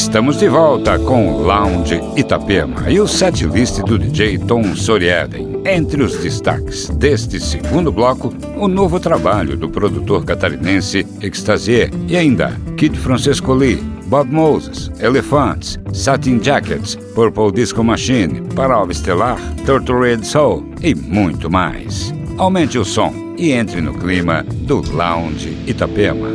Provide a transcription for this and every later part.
Estamos de volta com o Lounge Itapema e o setlist do DJ Tom Soriaden. Entre os destaques deste segundo bloco, o novo trabalho do produtor catarinense Extasier e ainda Kid Francesco Lee, Bob Moses, Elephants, Satin Jackets, Purple Disco Machine, Parova Estelar, Turtle Red Soul e muito mais. Aumente o som e entre no clima do Lounge Itapema.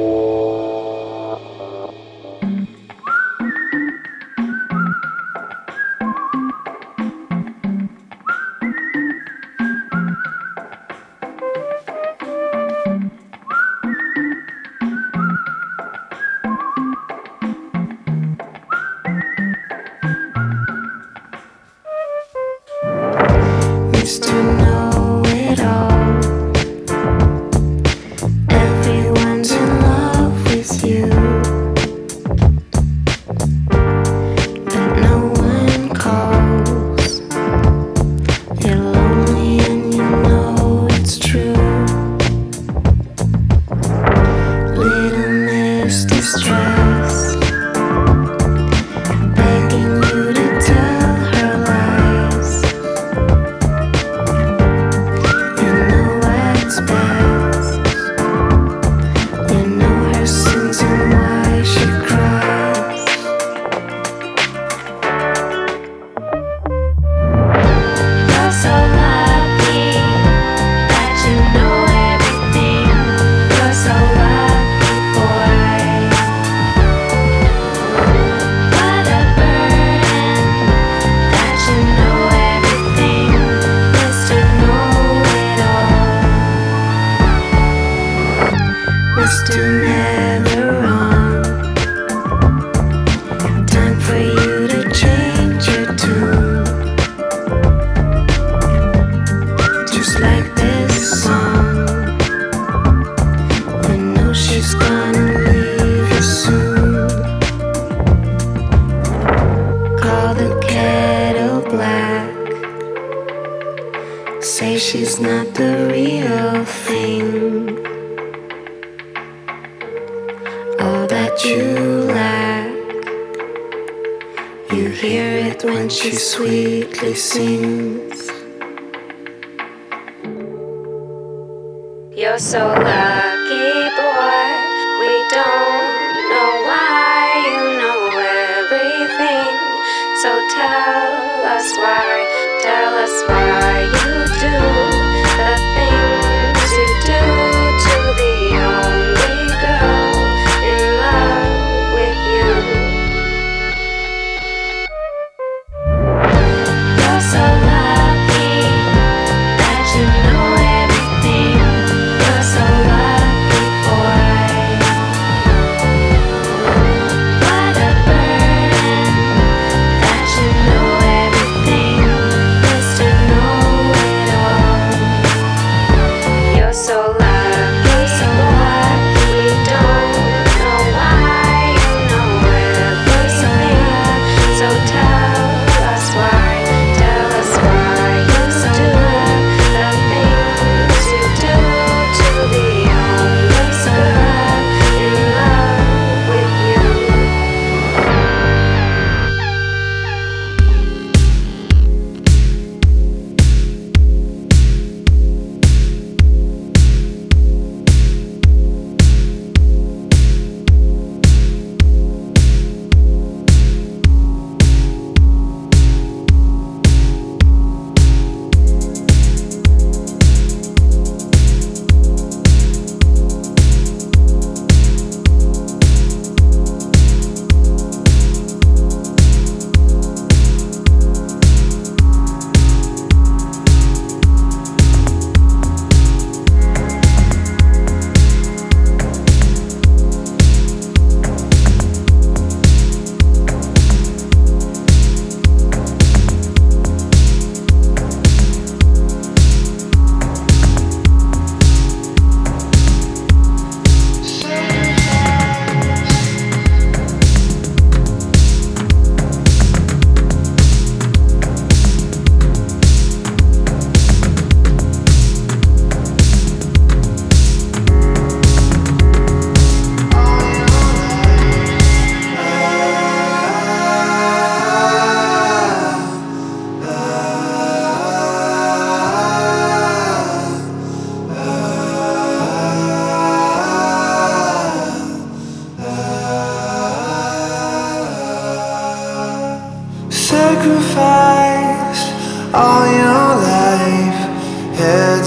You're so lucky, boy. We don't know why. You know everything. So tell us why you do the things you do to the only girl in love with you. You're so lucky that you know everything. You're so lucky, boy. What a burden that you know everything. Mr. Know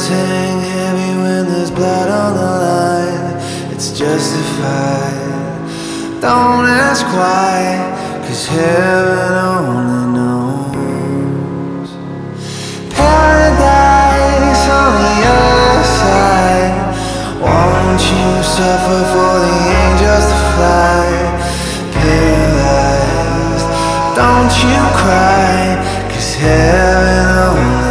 burdens hang heavy when there's blood on the line. It's justified. Don't ask why, 'cause heaven only knows. Paradise on the other side. Won't you suffer for the angels to fly? Paralyzed, don't you cry, 'cause heaven only knows.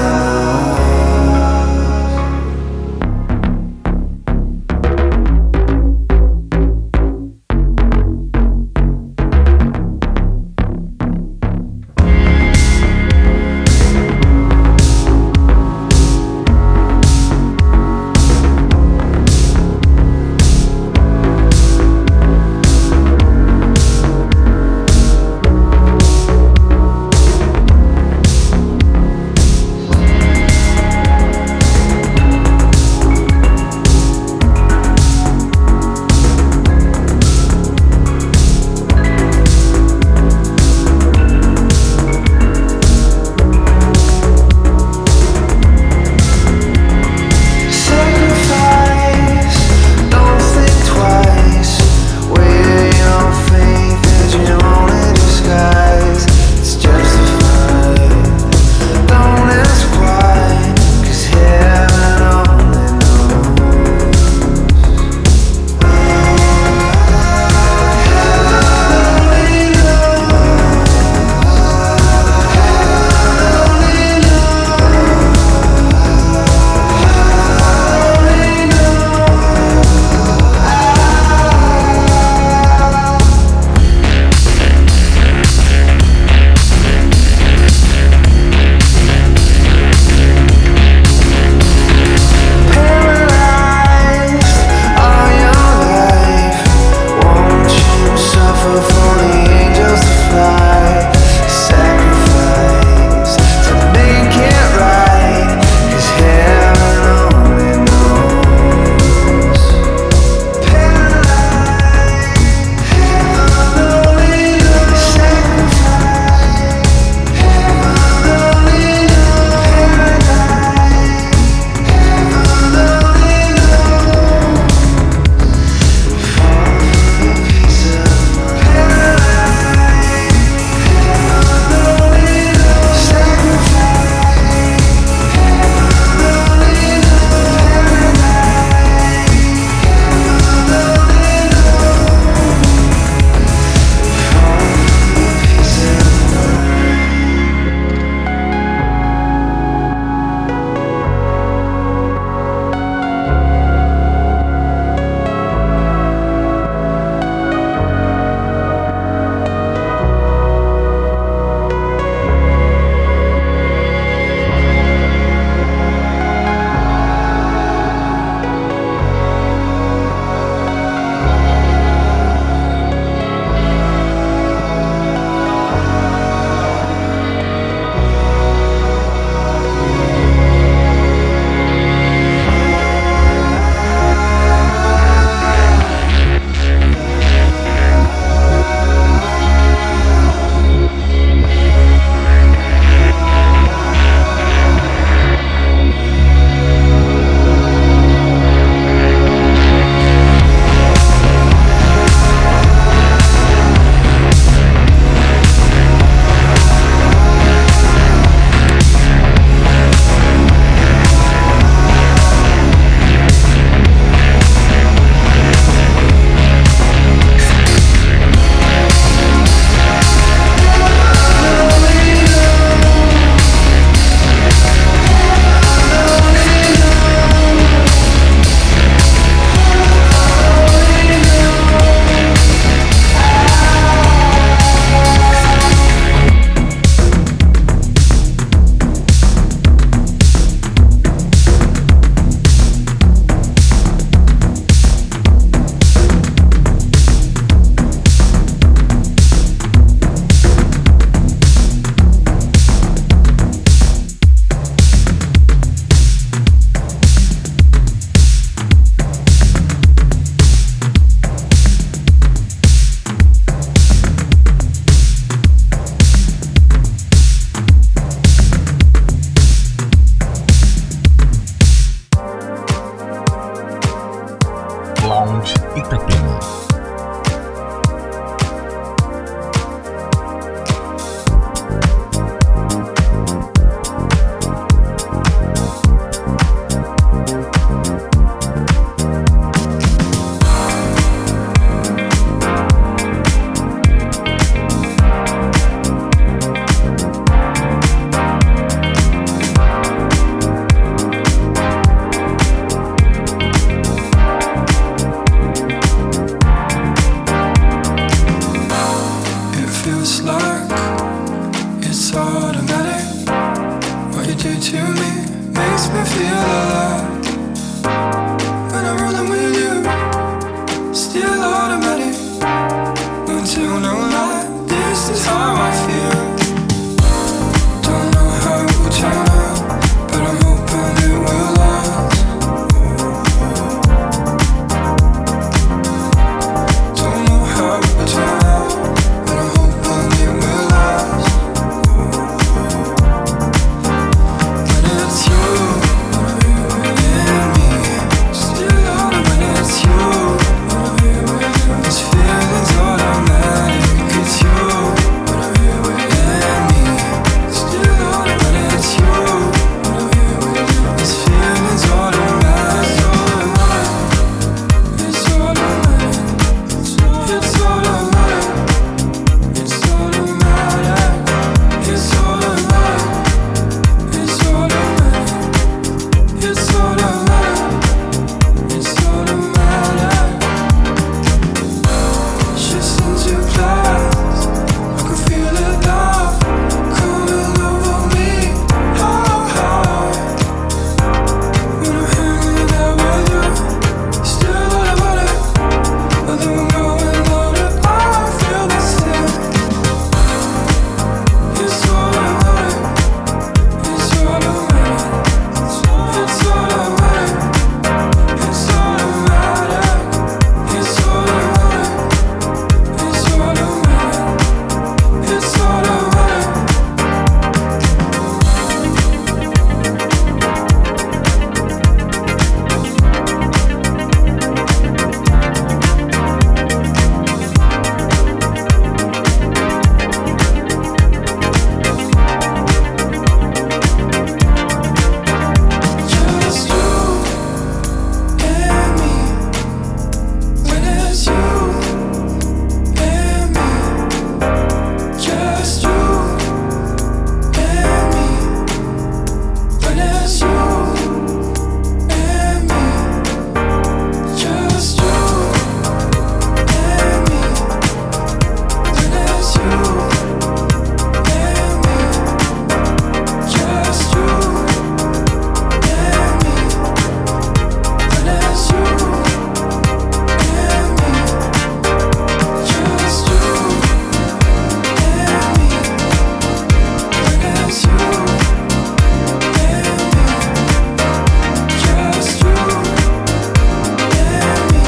feel alive. When I'm rolling with you, still automatic. No tell, no lie, this is how I feel. Don't know how it will turn out, but I'm hoping it will last. Don't know how it will turn out, but I'm hoping it will last. When it's you and me, still on when it's you. This feeling's automatic. It's you and me, still on when it's you. This feeling's automatic. It's automatic. It's automatic. It's automatic. It's automatic. It's automatic. It's automatic. It's automatic. Just into class, I can feel it now, coming over me. High. When I'm hanging out with you, still automatic. But then we're going louder, I feel the same. It's automatic. It's automatic. It's automatic. It's automatic. It's automatic. It's automatic. It's automatic. Just you and me. When it's you and me. Just you and me. When it's you and me. Just you and me. When it's you and me. Just you and me. When it's you and me. Just you and me. When it's you and me. Just you and me.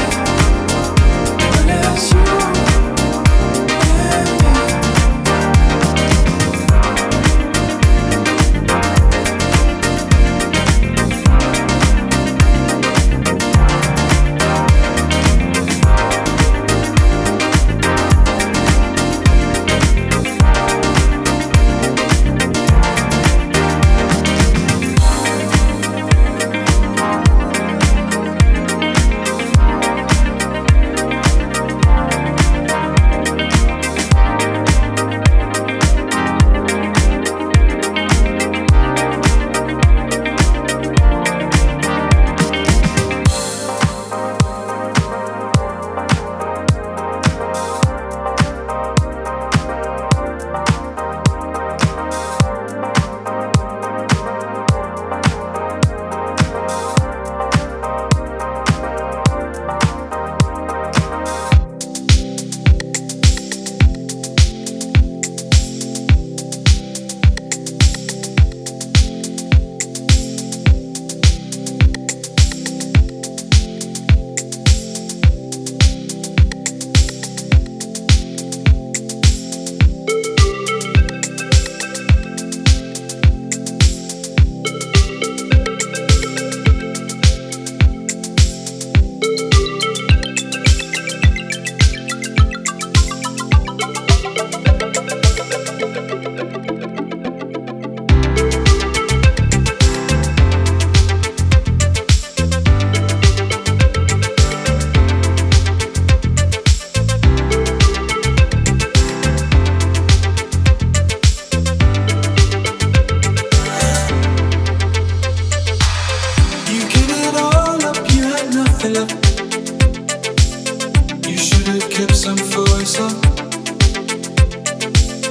When it's you and me.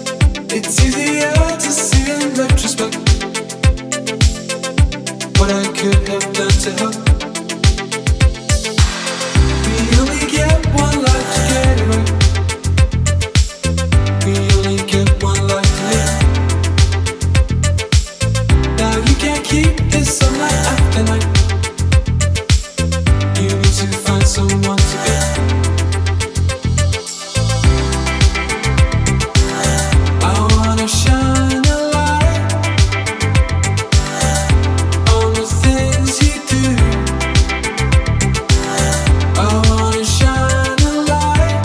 It's easier to see in retrospect what I could have done to help. We only get one life to get it right. We only get one life to live. Now you can't keep this up night after night. You need to find someone to be. I wanna shine a light on the things you do. I wanna shine a light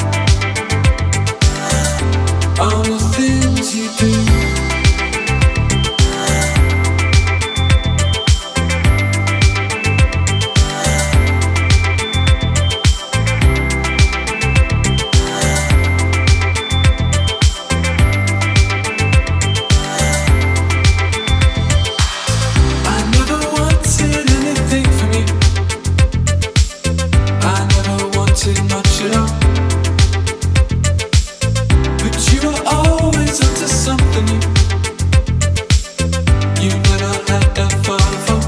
on the things you do. I never wanted anything from you. I never wanted much at all. But you were always up to something new. You never had that far to fall.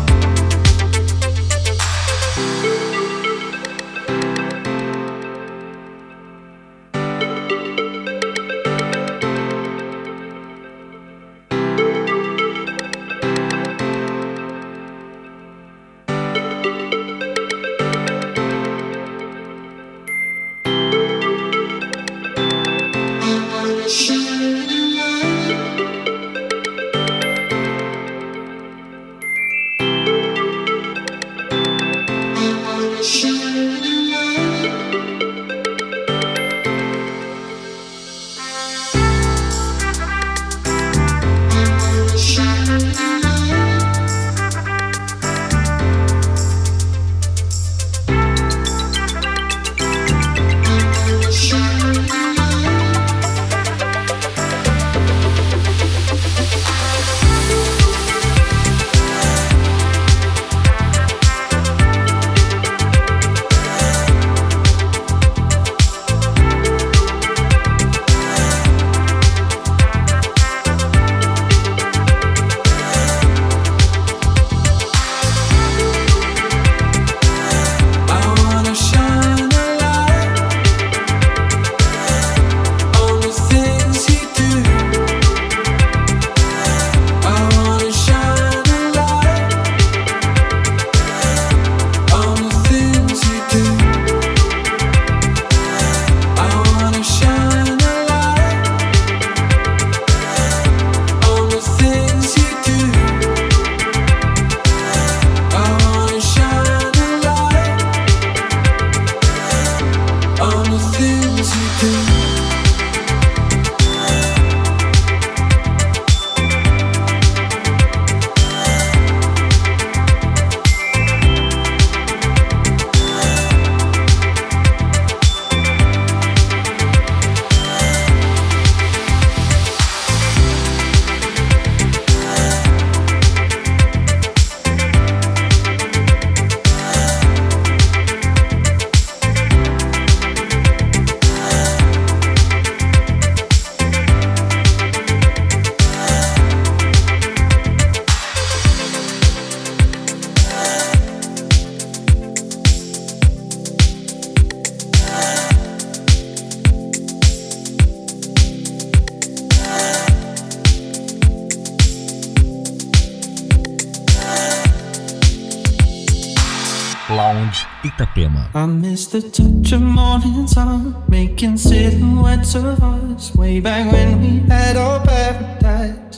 Lounge Itapema. I miss the touch of morning sun, making silhouettes of us way back when we had our paradise.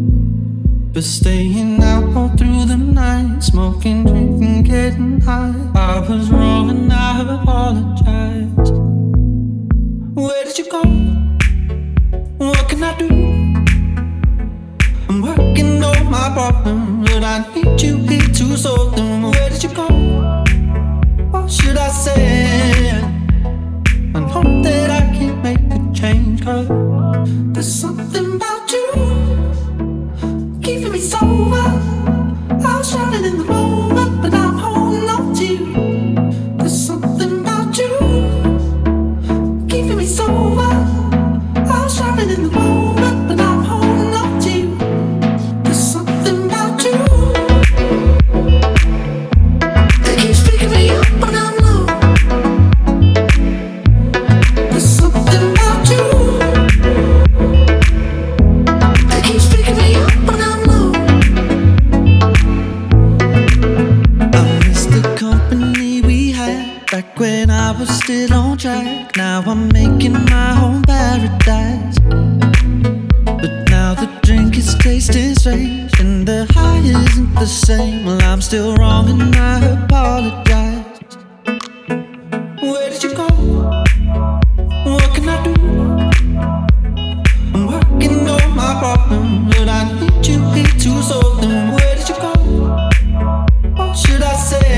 But staying out all through the night, smoking, drinking, getting high. I was wrong and I apologize. Where did you go? What can I do? I'm working on my problems, but I need you here to solve them. Where did you go? What should I say? I know that I can't make a change, 'cause there's something about you keeping me sober. I was drowning in the moment, but I'm holding on to you. There's something about you keeping me sober. I was drowning in the moment, but I'm holding on to you. There's something about you. still on track. Now I'm making my own paradise. But now the drink is tasting strange and the high isn't the same. Well, I'm still wrong and I apologize. Where did you go? What can I do? I'm working on my problem, but I need you here to solve them. Where did you go? What should I say?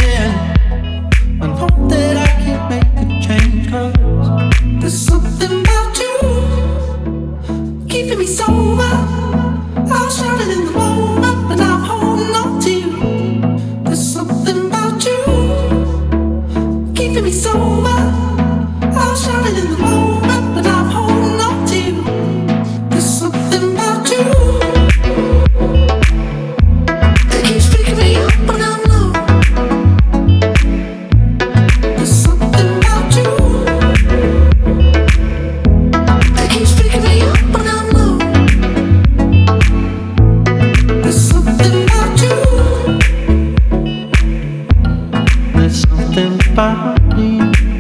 I know that I can't make a change, 'cause there's something about you keeping me sober. I was shouting in the moment, but I'm holding on to you. There's something about you keeping me sober. I was shouting in the moment, but I'm holding on to you. There's something about you that keeps picking me up when I'm low. There's something about you that keeps picking me up when I'm low. There's something about you. There's something about me.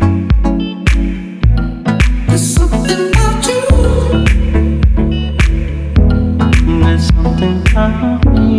There's something about you. There's something about me.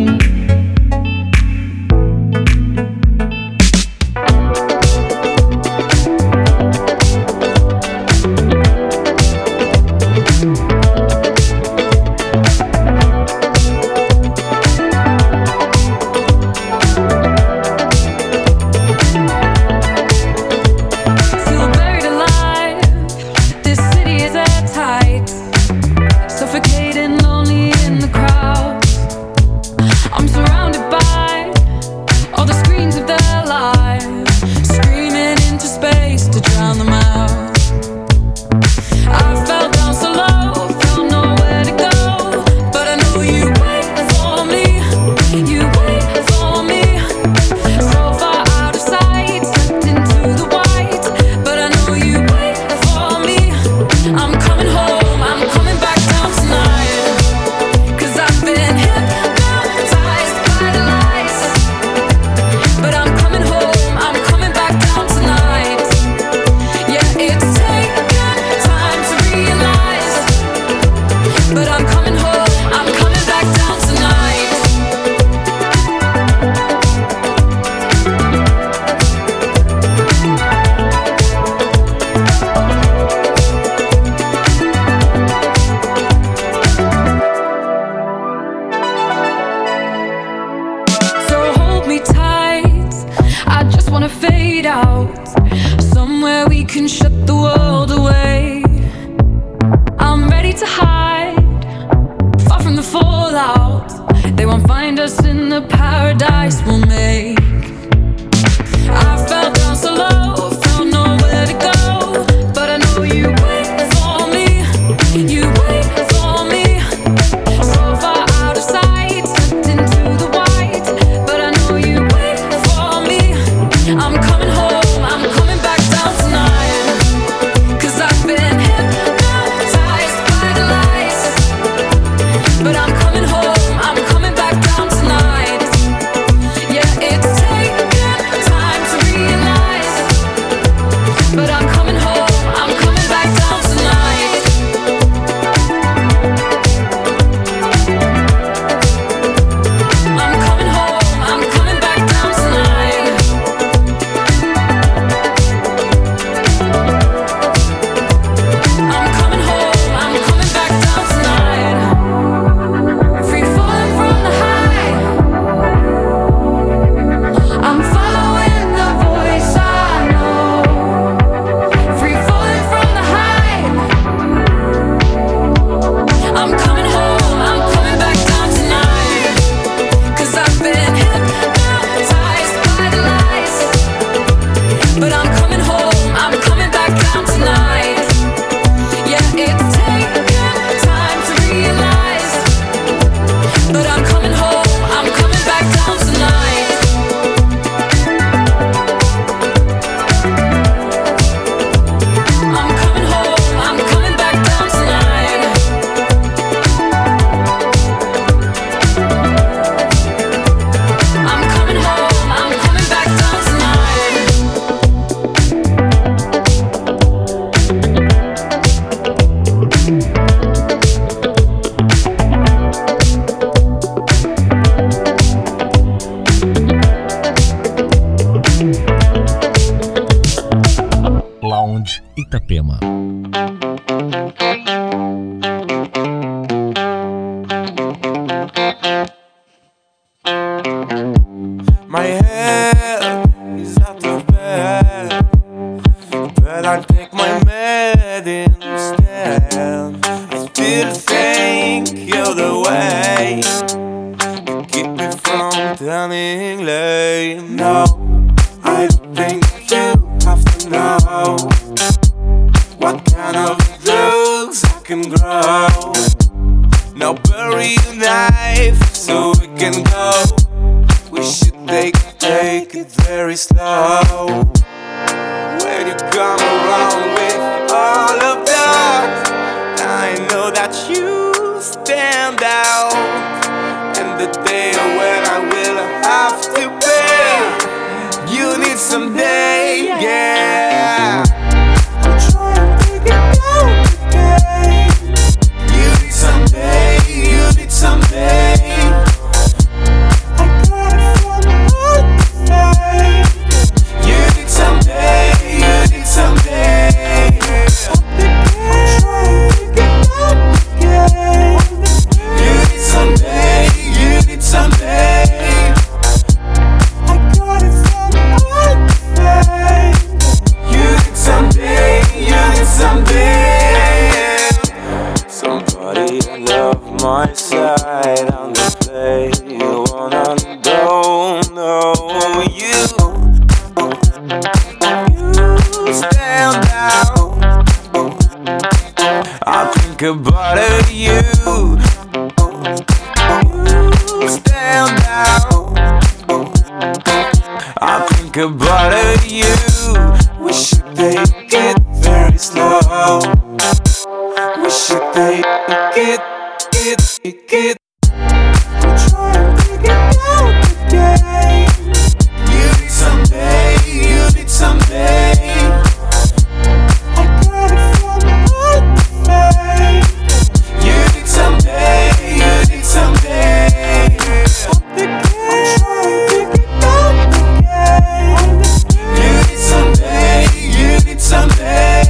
Feel buried alive. This city is airtight, suffocating, lonely in the crowd. I'm surrounded by all the screens of their lives, screaming into space to drown them out. I fell down so low, felt nowhere to go, but I know you wait for me. You wait for me. So far out of sight, slipped into the white, but I know you wait for me. I'm coming home, I'm coming back down tonight, 'cause I've been hypnotized by the lights. But I'm coming home, I'm coming back down tonight. Yeah, it's taken time to realize, but I'm coming home, I'm coming back down tonight. So hold me tight, I just wanna fade out, somewhere we can shut the world away. I'm ready to hide, far from the fallout. They won't find us in the paradise we'll make. I fell down so low, felt nowhere to go, but I know you wait for me. You wait for me. So far out of sight, slipped into the white, but I know you wait for me. I'm coming home, I'm coming back down tonight, Itapema. My head is out of bed, but I'll take my med instead. I still think you're the way to keep me from turning late. No, I think you have to know what kind of drugs I can grow. Now bury your knife so we can go. We should take it very slow. When you come around with all of that, I know that you stand out. And the day when I will have to pay, you need someday, yeah. I'm trying to get out today. You need someday, you need someday. My side on the play, you wanna don't know you stand out. I think about it, you stand out. I think about it, you. We should take it very slow. We should take it. I'm trying to get out today. You need someday, you need someday. I got it from heart to face. You need someday, you need someday. I'm trying to get out again. You need someday, you need someday.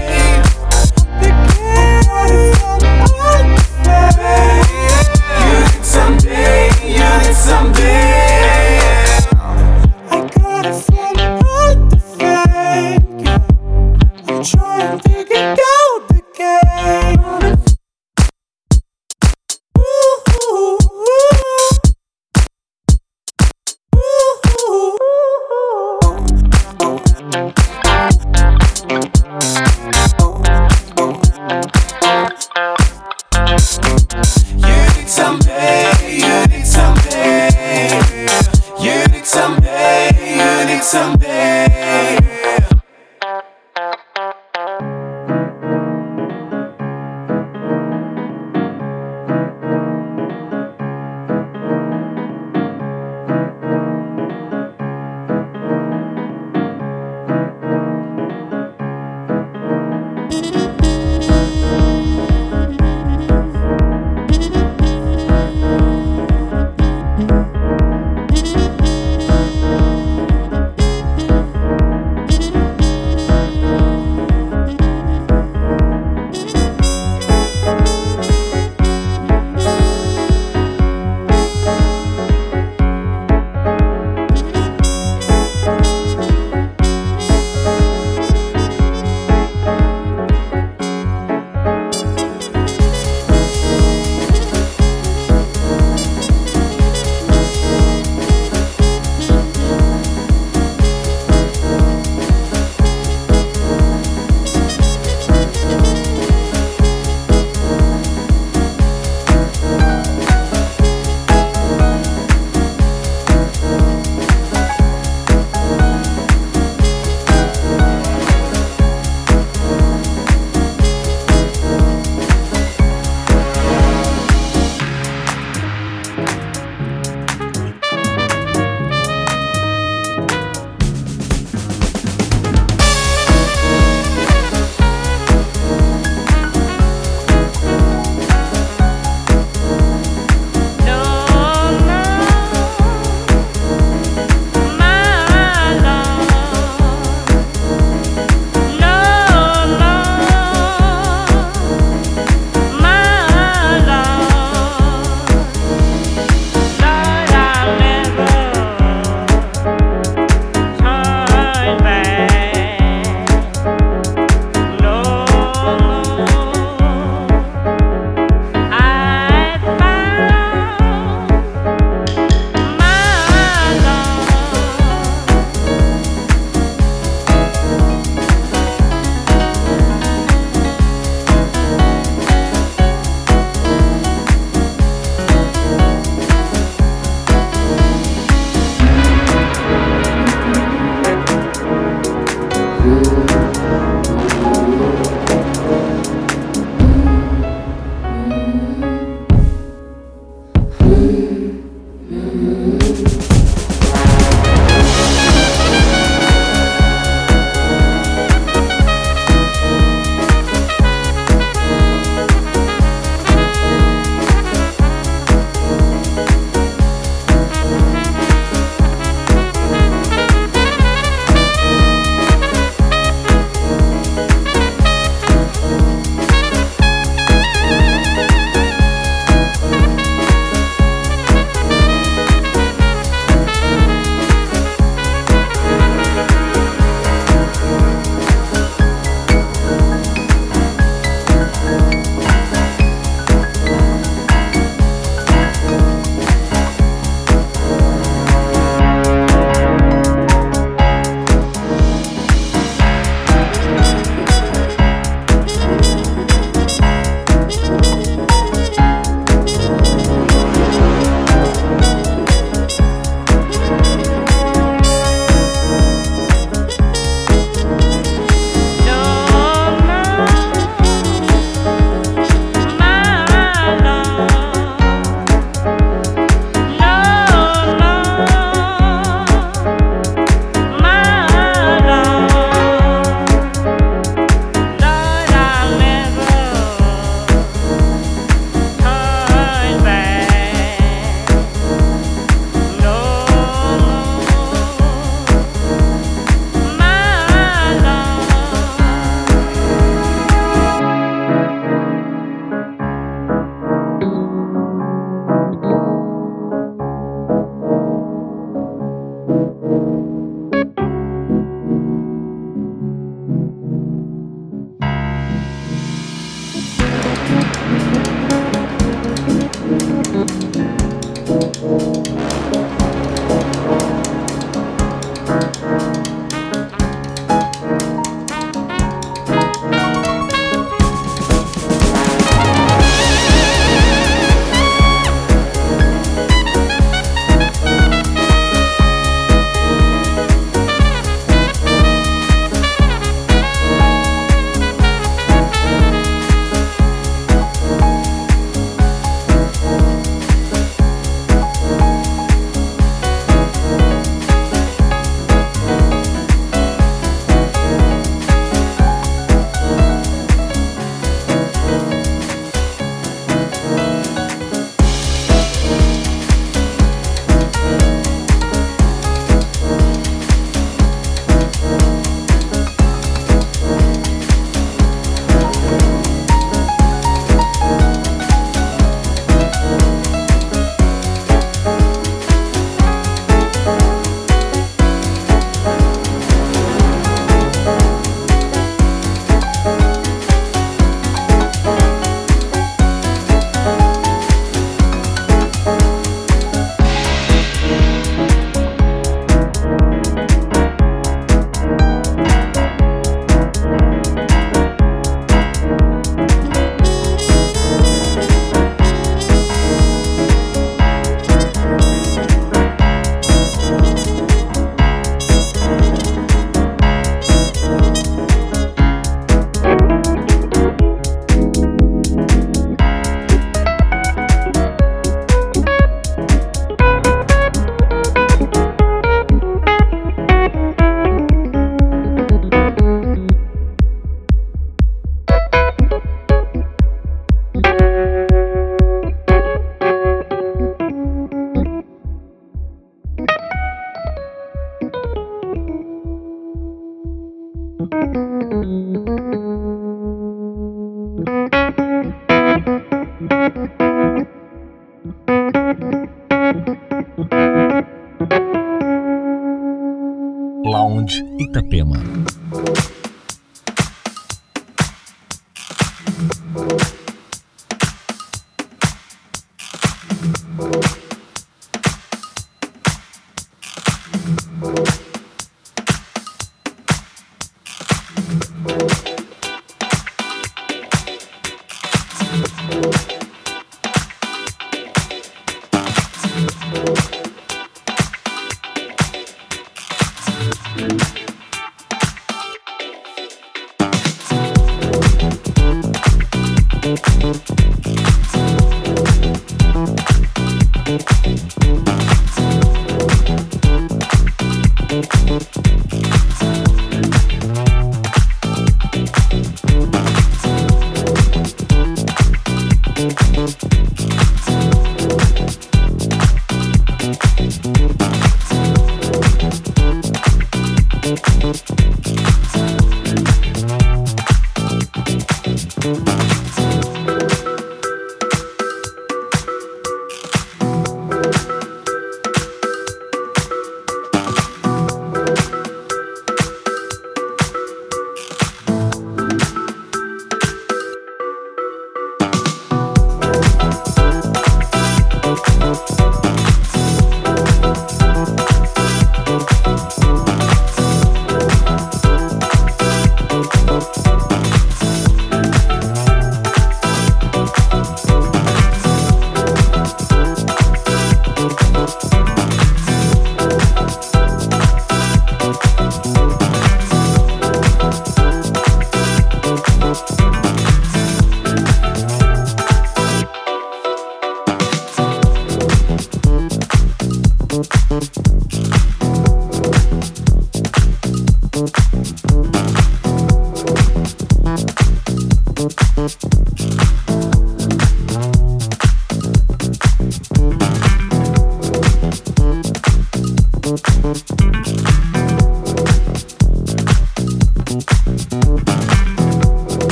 Lounge Itapema.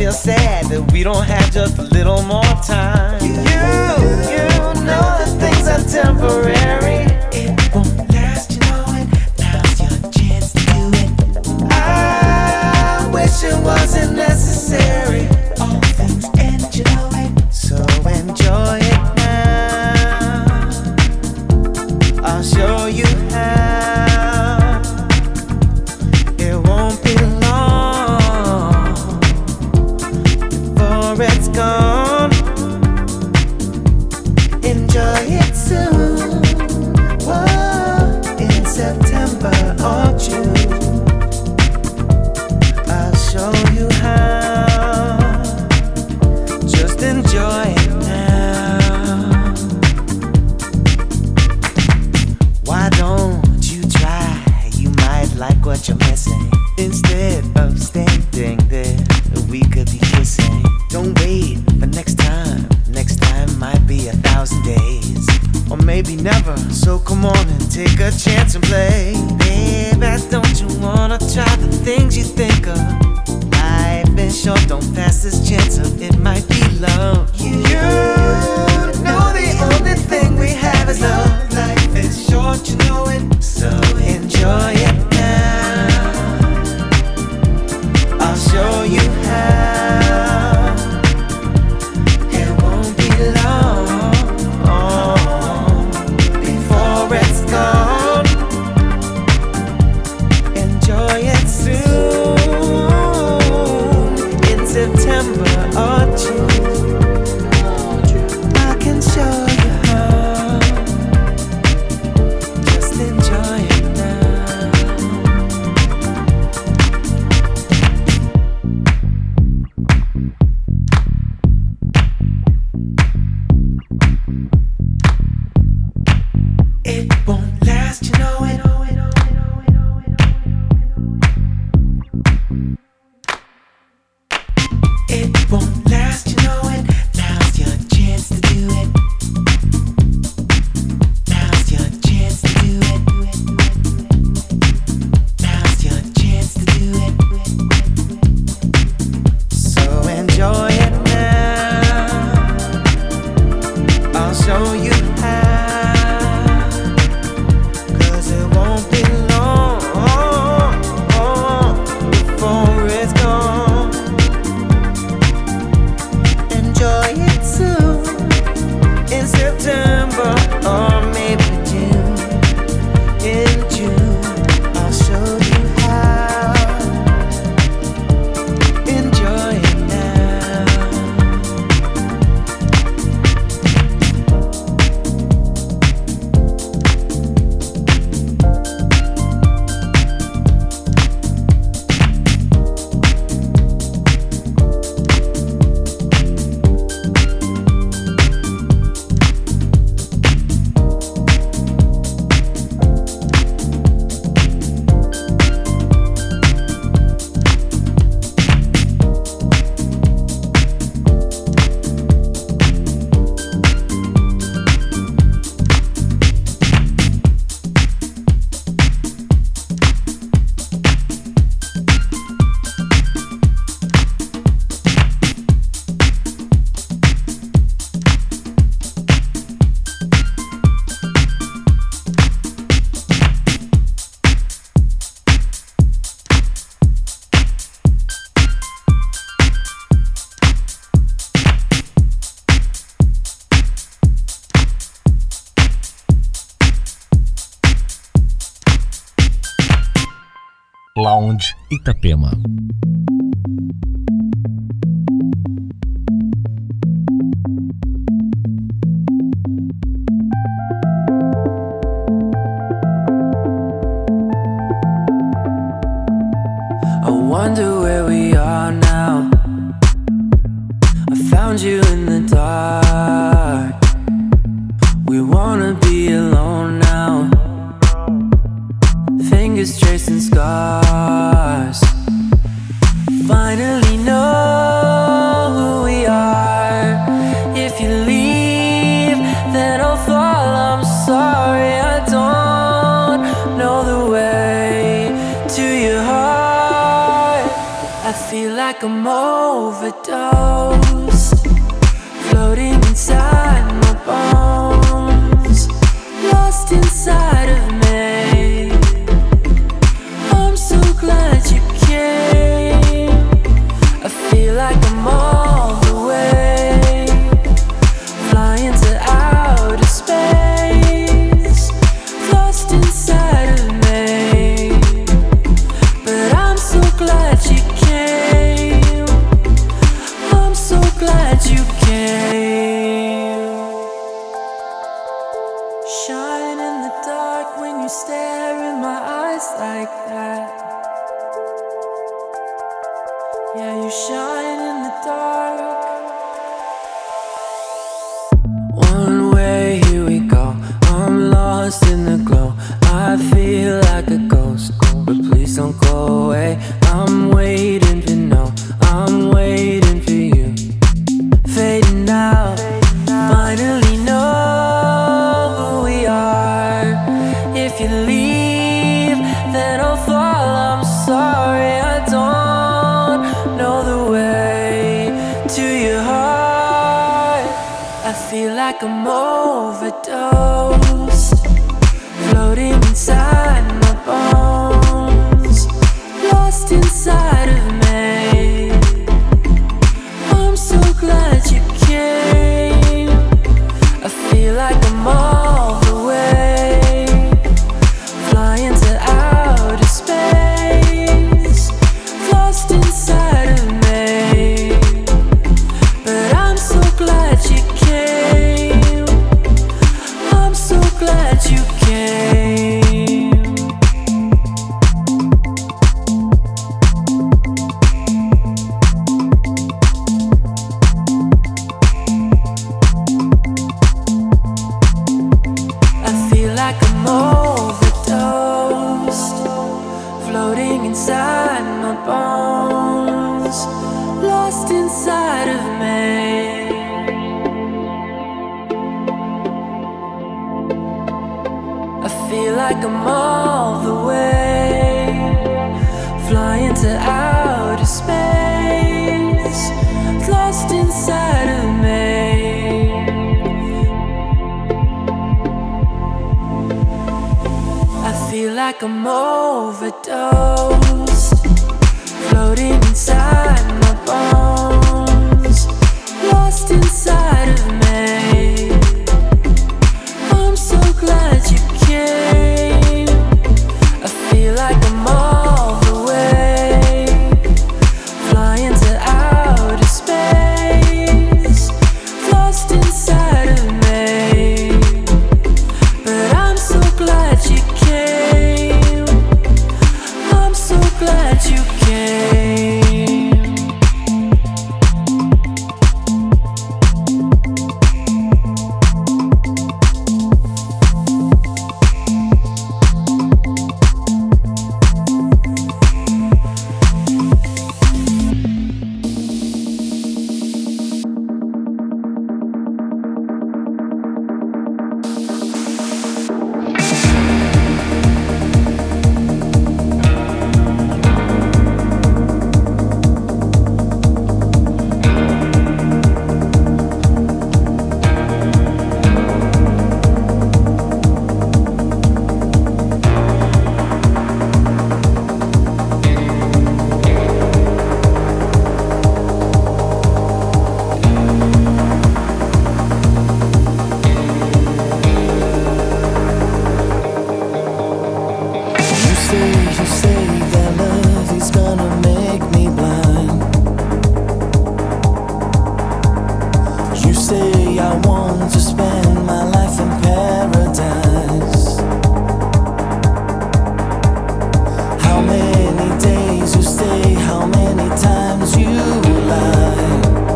feel sad that we don't have just a little more time. You know that things are temporary. It won't last, you know it. Now's your chance to do it. I wish it wasn't necessary. All things end, you know it. So enjoy it now. I'll show you how. It won't be long before it's gone. Enjoy it soon. Whoa, in September or June. I'll show you how. Just enjoy it now. Why don't you try? You might like what you're missing. Instead of standing there, we could be kissing. Don't wait for next time. Next time might be 1,000 days, or maybe never. So come on and take a chance and play. Baby, don't you wanna try the things you think of? Life is short, don't pass this chance up. It might be love. You know the only thing we have is love. Life is short, you know it. So enjoy it now. I'll show you how. It won't be long before it's gone. Enjoy it soon in September or June. I can show you how. Just enjoy it now. It won't last, you know it. It won't last, you know it. Now's your chance to do it. Now's your chance to do it. Now's your chance to do it. So enjoy it now. I'll show you how. 'Cause it won't be long before it's gone. Enjoy it soon in September or maybe June. In June, I'll show you how. Enjoy it now. Lounge Itapema. I wonder where we are now. I found you in the dark. We wanna be alone now. Fingers tracing scars. Finally know who we are. If you leave, then I'll fall. I'm sorry, I don't know the way to your heart. I feel like like I'm overdosed, floating inside my bones, lost inside of me. I'm so glad you came. I feel like I'm all the way, flying to outer space, lost inside of me. But I'm so glad you came. I'm so glad you came. Shine in the dark when you stare in my eyes like that. Yeah, you shine in the dark. One way, here we go. I'm lost in the glow. I feel like a ghost, but please don't go away. I'm waiting for no, I'm waiting for you. Fading out, finally know who we are. If you leave, then I'll fall. I'm sorry, I don't know the way to your heart. I feel like I'm overdosed, floating inside my bones, lost inside of me. I'm so glad you came. I feel like I'm all the way, flying to outer space, lost inside of me. But I'm so glad you came. I'm so glad you came. I feel like I'm overdosed, floating inside my bones, lost inside of me. I feel like I'm all the way, flying to outer space, lost inside of me. I feel like I'm overdosed, floating inside my bones, lost inside of me. I'm so glad you came. I feel like I'm all the way, flying to outer space, lost inside of me. But I'm so glad you came. I'm so glad you came. You say that love is gonna make me blind. You say I want to spend my life in paradise. How many days you stay, how many times you lie.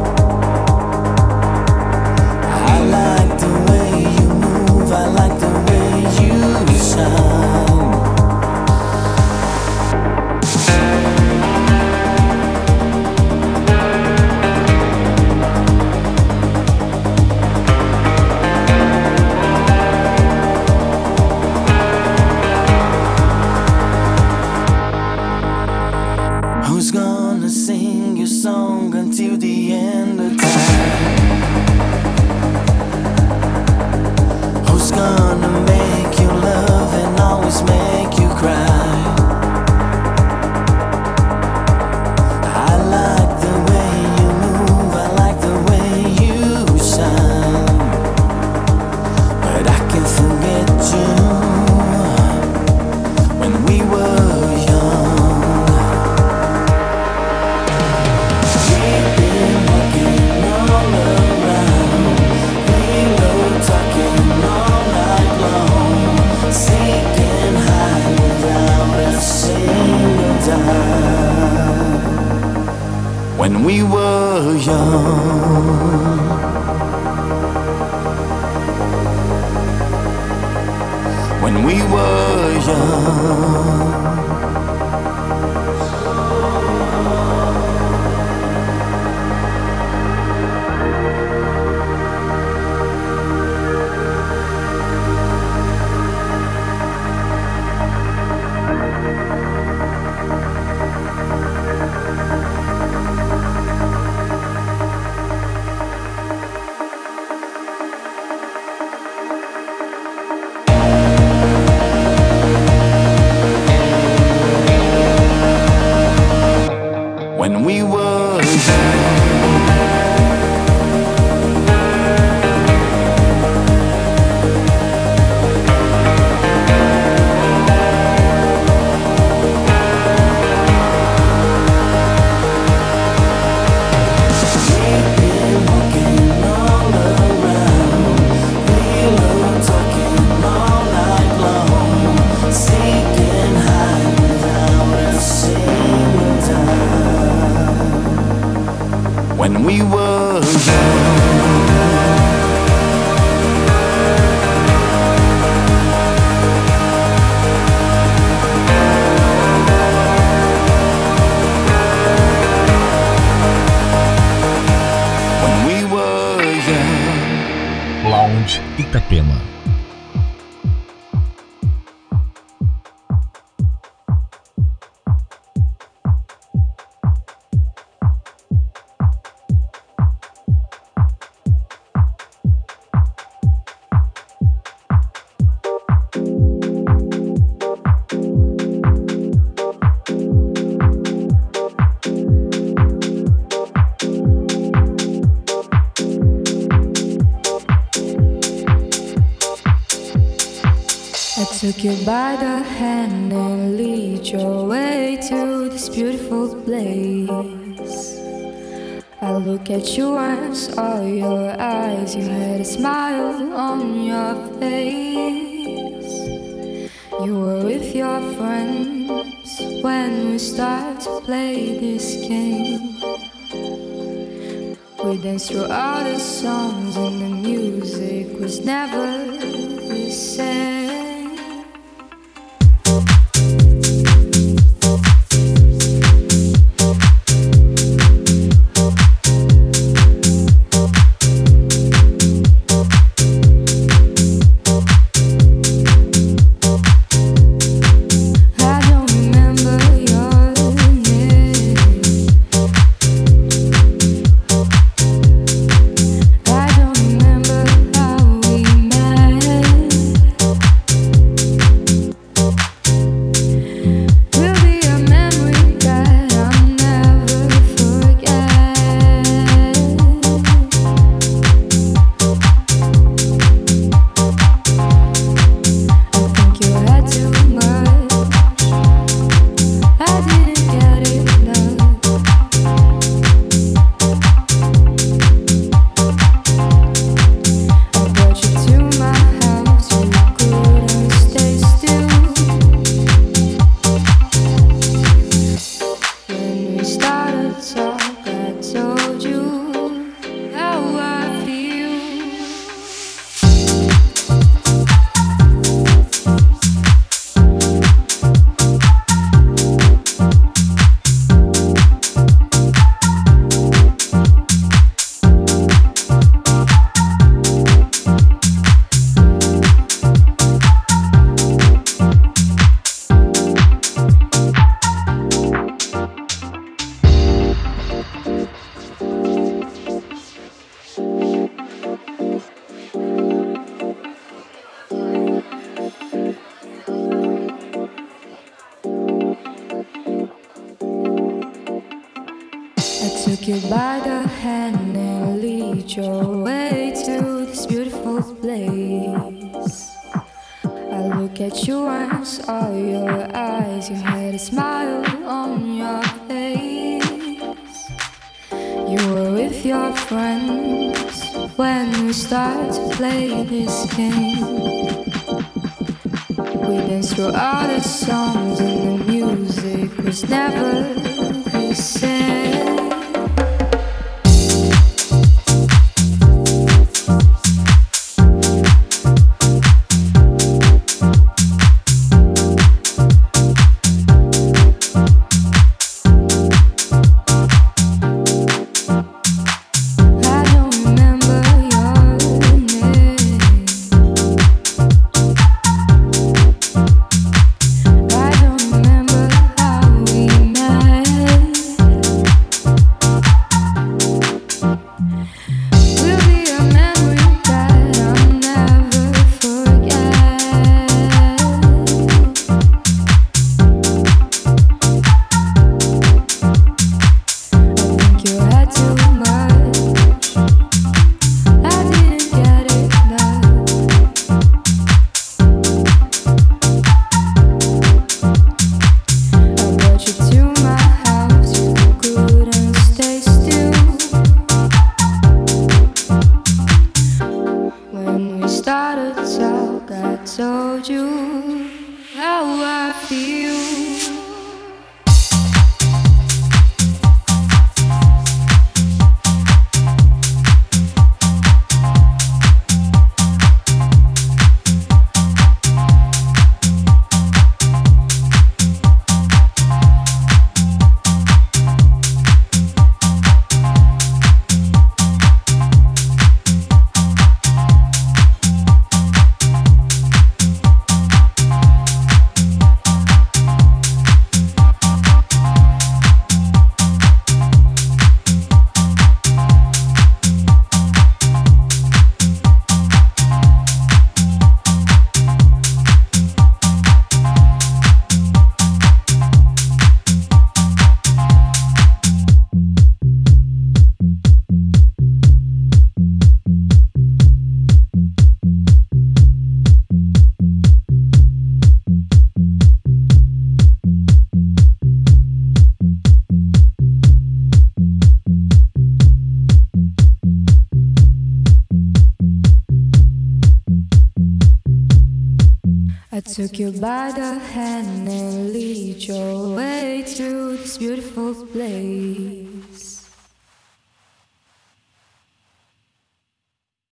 I like the way you move, I like the way you shine. young. When we were young. When we were when we were Lounge Itapema. Took you by the hand and lead your way to this beautiful place. I look at you and saw your eyes. You had a smile on your face. You were with your friends when we started to play this game. We danced through all the songs and the music was never the same. Took you by the hand and lead your way to this beautiful place. I look at you and saw your eyes. You had a smile on your face. You were with your friends when we started to play this game. We danced through all the songs and the music was never the same. took you by the hand and lead your way to this beautiful place.